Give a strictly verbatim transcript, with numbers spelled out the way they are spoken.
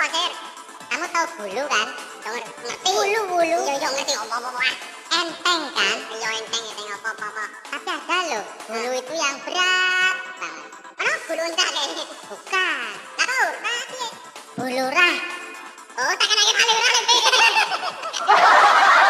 Sir? Kamu tahu bulu kan? Ngerti? Bulu, bulu. Iya, iya ngerti apa-apa. Enteng kan? Iya enteng, enteng apa-apa. Tapi ada loh, bulu itu yang berat banget. Mana bulu unta kayaknya? Bukan. Lah kau, tadi. Bulu rah. Oh, tak kena kali rah.